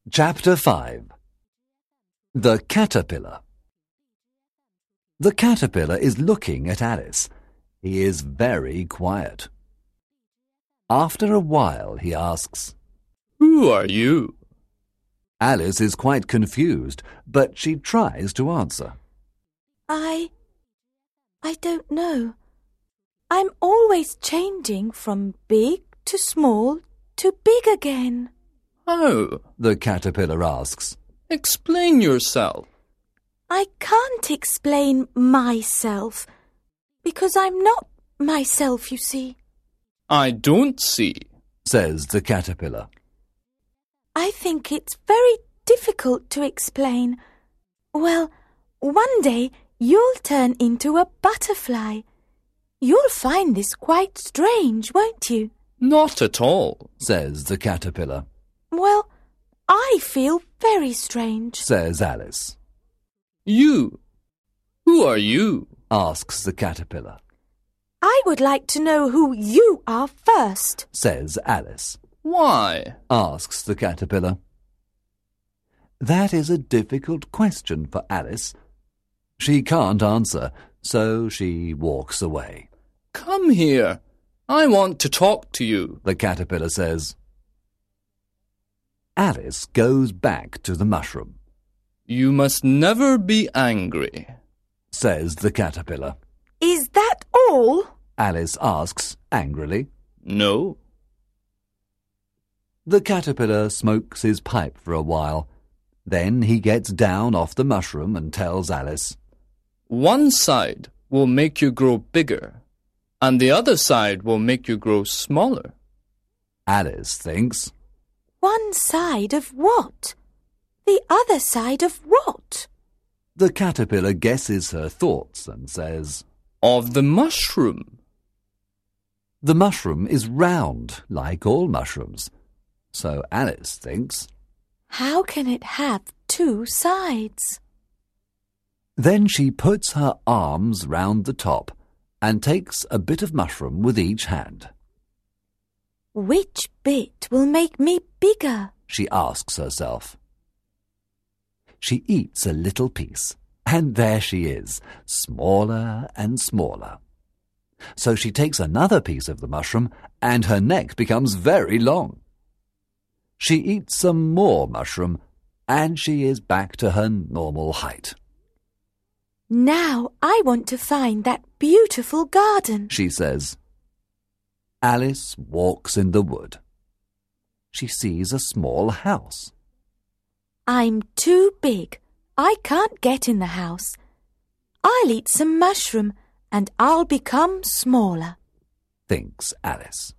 Chapter 5 The Caterpillar. The caterpillar is looking at Alice. He is very quiet. After a while he asks, "Who are you?" Alice is quite confused, but she tries to answer. I don't know. I'm always changing from big to small to big again. "How?" The caterpillar asks. "Explain yourself." I can't explain myself, because I'm not myself, you see. "I don't see," says the caterpillar. I think it's very difficult to explain. Well, one day you'll turn into a butterfly. You'll find this quite strange, won't you? "Not at all," says the caterpillar. Well, I feel very strange, says Alice. "You? Who are you?" asks the caterpillar. I would like to know who you are first, says Alice. "Why?" asks the caterpillar. That is a difficult question for Alice. She can't answer, so she walks away. "Come here. I want to talk to you," the caterpillar says. Alice goes back to the mushroom. "You must never be angry," says the caterpillar. Is that all? Alice asks angrily. "No." The caterpillar smokes his pipe for a while. Then he gets down off the mushroom and tells Alice, "One side will make you grow bigger, and the other side will make you grow smaller." Alice thinks, One side of what? The other side of what? The caterpillar guesses her thoughts and says, "Of the mushroom." The mushroom is round, like all mushrooms. So Alice thinks, How can it have two sides? Then she puts her arms round the top and takes a bit of mushroom with each hand. Which bit will make me bigger? She asks herself. She eats a little piece, and there she is, smaller and smaller. So she takes another piece of the mushroom, and her neck becomes very long. She eats some more mushroom, and she is back to her normal height. Now I want to find that beautiful garden, she says. Alice walks in the wood. She sees a small house. I'm too big. I can't get in the house. I'll eat some mushroom and I'll become smaller, thinks Alice.